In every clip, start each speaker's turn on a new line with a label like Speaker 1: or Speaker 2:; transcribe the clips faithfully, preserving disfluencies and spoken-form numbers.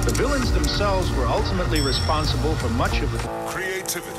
Speaker 1: The villains themselves were ultimately responsible for much of the
Speaker 2: creativity.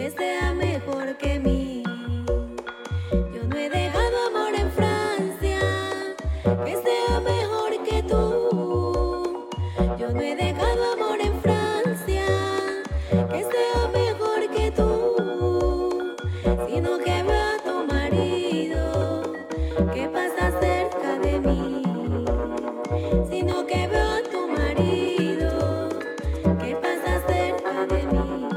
Speaker 2: que sea mejor que mí. Yo no he dejado amor en Francia, que sea mejor que tú. Yo no he dejado amor en Francia, que sea mejor que tú, sino que veo a tu marido que pasa cerca de mí, sino que veo a tu marido que pasa cerca de mí.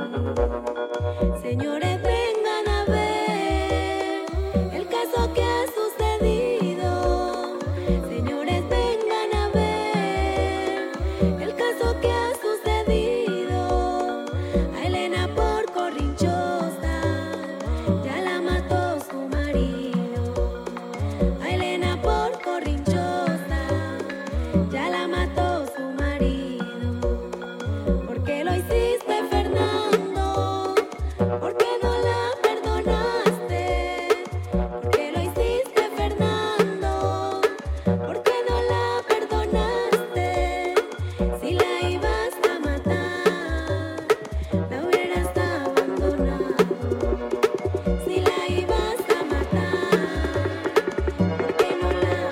Speaker 2: Señores, vengan a ver el caso que ha sucedido. Señores, vengan a ver el caso que ha sucedido. A Elena por corrinchosa ya la mató su marido. A Elena por corrinchosa ya la mató su marido. ¿Por qué lo hiciste, Fernando? ¿Por qué no la perdonaste? ¿Por qué lo hiciste, Fernando? ¿Por qué no la perdonaste? Si la ibas a matar, la hubieras abandonado. Si la ibas a matar, ¿por qué no la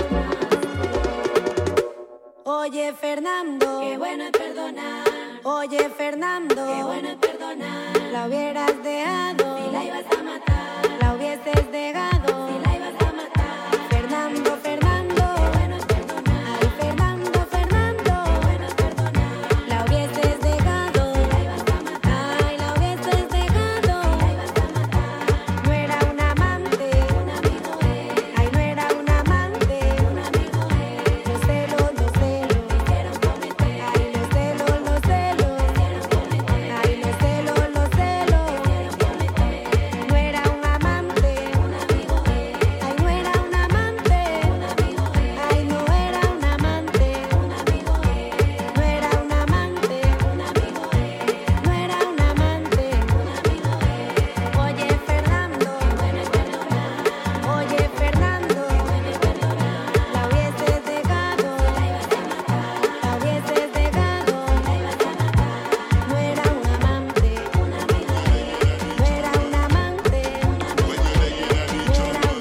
Speaker 2: abandonaste? Oye, Fernando, qué bueno es perdonar. Oye, Fernando, qué bueno es perdonar. La hubieras dejado si la ibas a matar. La hubieses dejado si la ibas a matar. Fernando, Fernando, qué bueno es perdonar. Ay, Fernando, Fernando, qué bueno es perdonar. La hubieses dejado si la ibas a matar. Ay, la hubieses dejado si la ibas a matar. No era un amante, un amigo es. Ay, no era un amante, un amigo es. Los celos, los celos, me hicieron cometer. Ay, los celos, los celos, me hicieron cometer. Ay, los celos, los celos, me hicieron cometer. No era un amante, un amigo es. Ay, no era un amante, un amigo es. Ay, no era un amante, un amigo es. No era un amante, un amigo es. No era un amante, un amigo es. Oye, Fernando, qué bueno es perdonar. Oye, Fernando, qué bueno es perdonar. La hubieses dejado si la ibas a matar. La hubieses dejado si la ibas a matar. No era un amante, un amigo es. No era un amante, un amigo es. No era un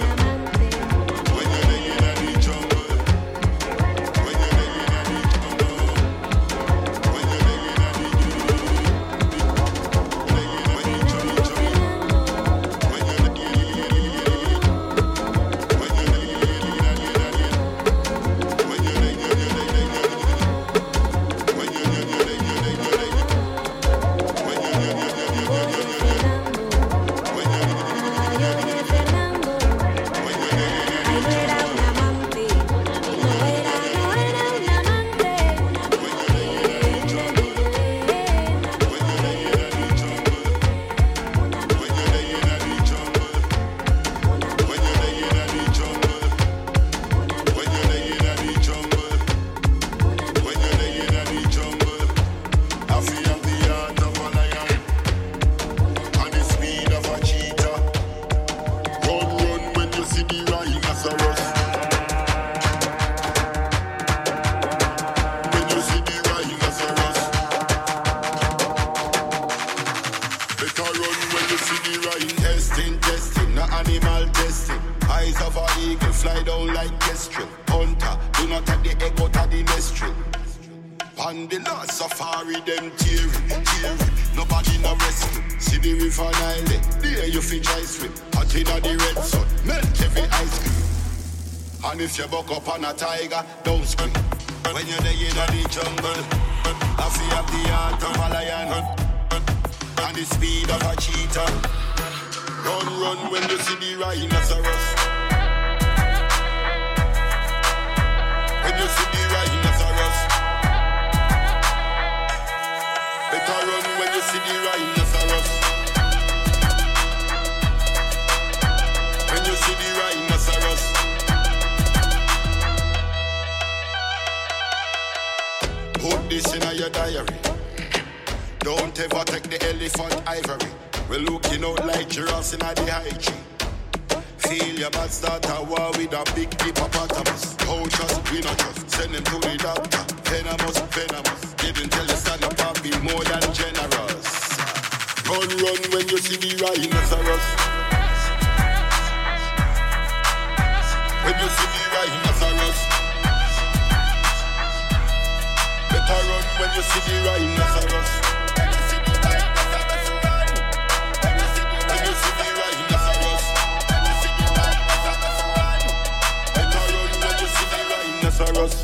Speaker 2: amante. Oye, Fernando, ay, no era un amante, no era, no era un amante, un amigo
Speaker 3: Testing, testing, not animal testing. Eyes of an eagle fly down like kestrel. Hunter, do not take the egg out of the nest tree. On the last safari, them tearing, tearing. Nobody no rescue. See the river Nile, there you fi dry swim. Hot inna the red sun, melt every ice cream. And if you buck up on a tiger, don't scream. When you're there in the jungle, I feel have the heart of a lion and the speed of a cheetah. Run, run when you see the rhinoceros. When you see the rhinoceros. Better run when you see the rhinoceros. When you see the rhinoceros. Put this in your diary. Don't ever take the elephant ivory. We're looking out like giraffes in the high tree. Feel your bad start a war with a big hippopotamus. Coaches, we not trust. Send them to the doctor. Venomous, venomous. Didn't tell you stand up and be more than generous. Turn run when you see the rhinoceros. When you see the rhinoceros. Better run when you see the rhinoceros. When you see the rhinoceros. Better run when you see the rhinoceros.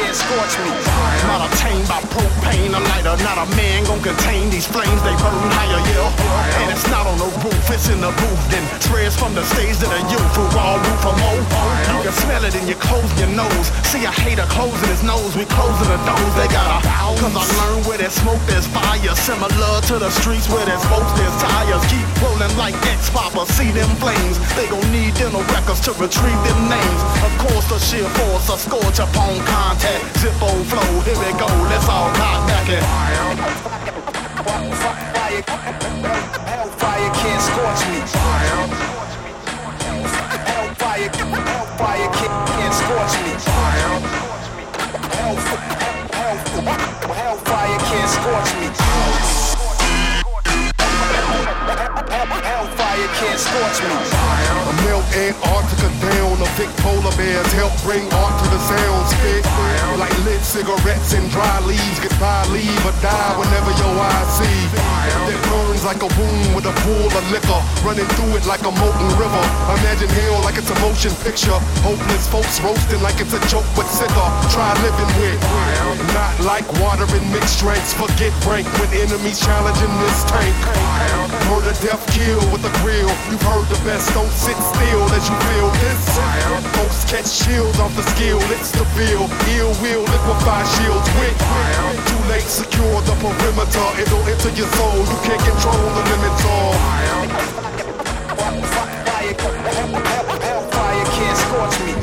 Speaker 4: can't scorch me.
Speaker 5: Not obtained by propane, a lighter, not a man gon' contain these flames, they burn higher, yeah. And it's not on the roof, it's in the booth, then spreads from the stage to the youth, who all root for more. You can smell it in your clothes, your nose. See a hater closing his nose, we closing the doors, they got a house. Cause I learned where there's smoke, there's fire, similar to the streets where there's boats, there's tires. Keep rolling like X-Papa, see them flames, they gon' need dental records to retrieve them names. Of course the sheer force, a scorch upon contact, Zippo flow, here we go, let's all cock back it.
Speaker 4: Hellfire can't scorch me. Hellfire, hellfire can't scorch me. Hellfire can't scorch me. Hellfire can't scorch me.
Speaker 6: I melt Antarctica down, a big polar bears help bring art to the sound spit. Like lit cigarettes and dry leaves, goodbye, leave or die whenever your eyes see. That burns like a wound with a pool of liquor, running through it like a molten river. Imagine hell like it's a motion picture, hopeless folks roasting like it's a joke but sicker. Try living with, not like water in mixed drinks. Forget rank when enemies challenging this tank. Murder, death, kill with a grill. You've heard the best, don't sit still as you feel this. Folks catch chills off the skill, it's the bill. Ill will liquefy shields with. Too late, secure the perimeter. It'll enter your soul, you can't control the limits all.
Speaker 4: Hellfire can't scorch me.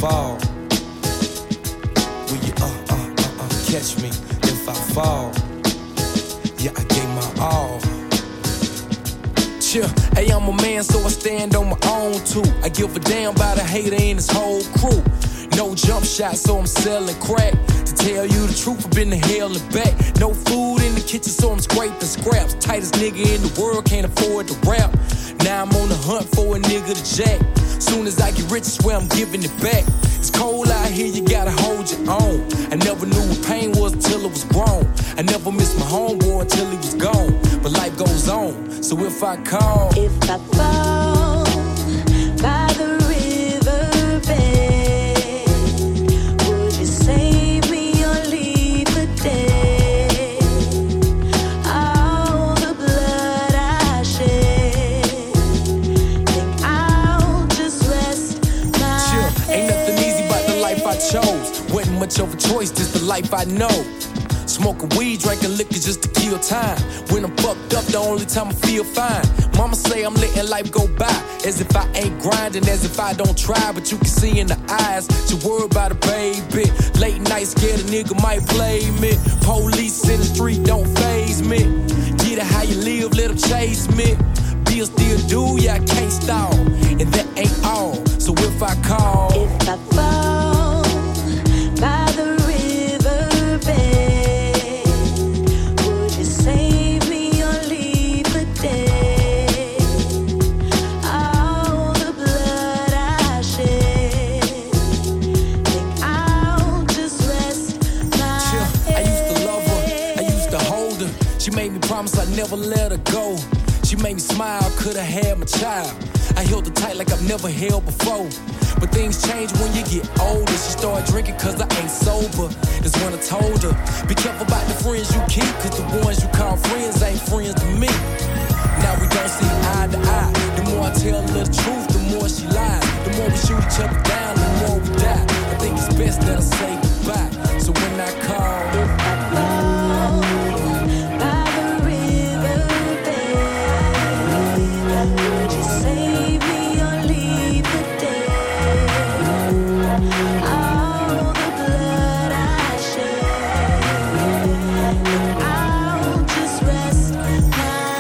Speaker 7: fall? Will you uh, uh, uh, uh, catch me if I fall? Yeah, I gave my all. Chill, hey, I'm a man, so I stand on my own too. I give a damn about a hater and his whole crew. No jump shot, so I'm selling crack. To tell you the truth, I've been to hell and back. No food in the kitchen, so I'm scraping scraps. Tightest nigga in the world, can't afford to rap. Now I'm on the hunt for a nigga to jack. Soon as I get rich, I swear I'm giving it back. It's cold out here, you gotta hold your own. I never knew what pain was until it was grown. I never missed my homeboy until he was gone. But life goes on, so if I call,
Speaker 2: if I fall by the riverbed, would you save me or leave for dead? All the blood I shed, think I'll just rest my
Speaker 7: chill, ain't
Speaker 2: head.
Speaker 7: nothing easy about the life I chose. Wasn't much of a choice, just the life I know. Smoking weed, drinking liquor just to kill time. When I'm fucked up, the only time I feel fine. Mama say I'm letting life go by, as if I ain't grinding, as if I don't try. But you can see in the eyes, she worried about a baby. Late night, scared a nigga might play me. Police in the street don't faze me. Get it how you live, let them chase me. Bill still do, yeah, I can't stall. And that ain't all, so if I call,
Speaker 2: if I fall by the riverbed, save me or leave for dead. All the blood I shed, think I'll just rest my
Speaker 7: chill,
Speaker 2: head.
Speaker 7: I used to love her, I used to hold her. She made me promise I'd never let her go. She made me smile, could've had my child. I held her tight like I've never held before. But things change when you get older. She started drinking cause I ain't sober. That's when I told her, be careful about the friends you keep, cause the ones you call friends ain't friends to me. Now we don't see eye to eye. The more I tell her the truth, the more she lies. The more we shoot each other down, the more we die. I think it's best that I say goodbye. So when I call,
Speaker 2: if I fall by the riverbed, would you save me or leave for dead? All the blood I shed, I'll just rest my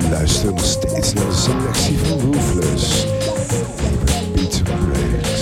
Speaker 8: luistert nog steeds naar de selectie van Ruthless. Beats and Breaks.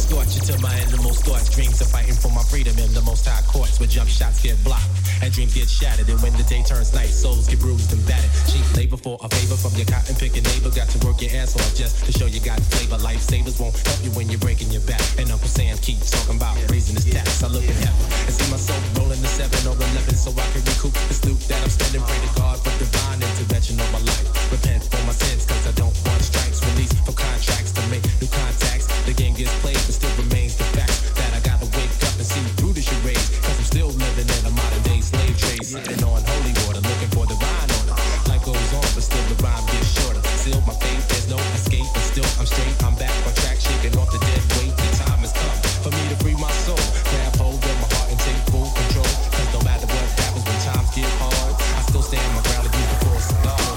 Speaker 9: scorch you to my innermost thoughts. Dreams of fighting for my freedom in the most high courts where jump shots get blocked and dreams get shattered. And when the day turns night, souls get bruised and battered. Cheap labor for a favor from your cotton picking neighbor. Got to work your ass off just to show you got flavor. Lifesavers won't help you when you're breaking your back. And Uncle Sam keeps talking about raising his tax. I look at heaven and see myself rolling the seven or eleven so I can recoup the loot that I'm spending. Pray to God for divine intervention on my life. Repent for my sins cause I don't want strikes. Release for contracts to make new contacts. The game gets played but still remains the fact that I gotta wake up and see through the charade. Cause I'm still living in a modern day slave trade. Sitting on holy water looking for divine order. Life goes on but still the rhyme gets shorter. Seal my faith, there's no escape but still I'm straight. I'm back on track shaking off the dead weight. The time has come for me to free my soul. Grab hold of my heart and take full control. Cause no matter what happens when times get hard, I still stand my ground and use the force of God.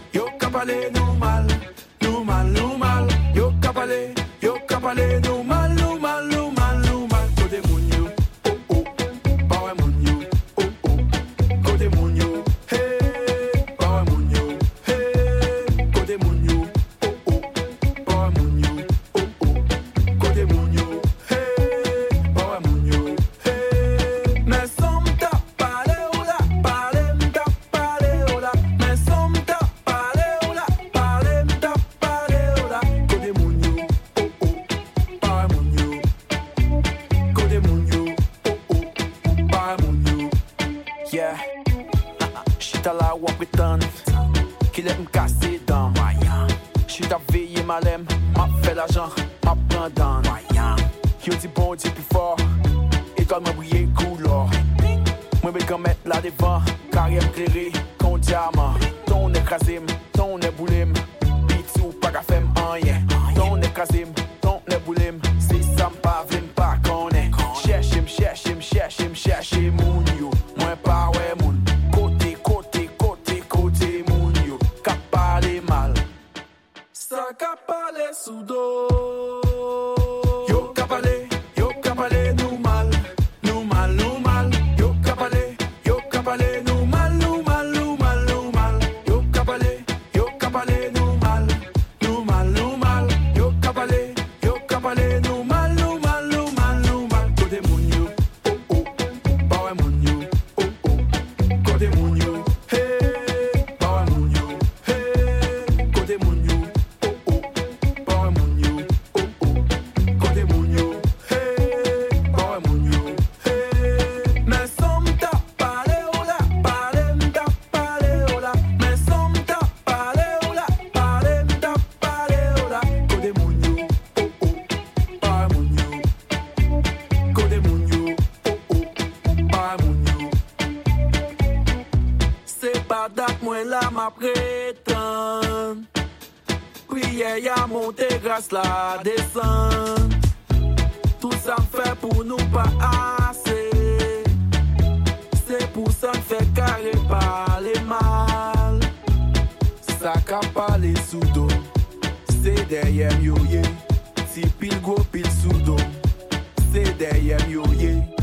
Speaker 10: yo kapale nou mal, nou mal, nou mal. Yo kapale, yo kapale nou mal, nou mal, nou mal, nou mal. Kote moun yo, oh oh, bawe moun yo, oh oh. Kote moun yo, hey, bawe moun yo, hey. Kote moun yo, oh oh, bawe moun yo, oh oh. Kote moun yo, hey, bawe moun yo, hey. Me som ta pale ola, pale mta pale ola. Me som ta pale ola, pale mta pale ola. Kote moun yo, oh oh, bawe moun yo. Kote moun yo, oh oh, bawe moun yo. Yeah, chita la wap retan, ki let m kase dan. Chita veye malem, map fe l'ajan, map pran dan. Yo di bon di pi for, etol mwen bouye koulor. Mwen be kan met la devan, karyem kleri, kon diamant. Ton ekrazim, ton e boulim, bitou pa ka fem anyen. Ton ekrazim, ton e boulim, si sam pa vim pa konen. Cheshim, cheshim, cheshim, cheshim moun yo, mwen pa we moun. Kote, kote, kote, kote moun yo, ka pale mal. Sa ka pale sou do. Yo kapale, yo kapale nou mal, nou mal, nou mal. Yo kapale, yo kapale nou mal, nou mal, nou mal, nou mal. Yo kapale, yo kapale nou mal, nou mal, nou mal. Yo kapale, yo kapale nou mal, nou mal, nou mal, nou mal. Kote moun yo, oh oh, bawe moun yo, oh oh. Kote moun yo, hey, bawe moun yo, hey. Kote moun yo, oh oh, bawe moun yo, oh oh. Kote moun yo, hey, bawe moun yo, hey. Me som ta pale ola, pale mta pale ola. Me som ta pale ola, pale mta pale ola. Kote moun yo, oh oh, bawe moun yo. Kote moun yo, oh oh, bawe moun yo. Se pa dat mwen la ma pretan. Priye ya monte grâce la descend. Tout ça fait pour nous pas assez. C'est pour ça fait carré parler mal. Ça ka parler sous dos. C'est derrière yo ye. Si pile go pile sous dos. C'est derrière yo ye.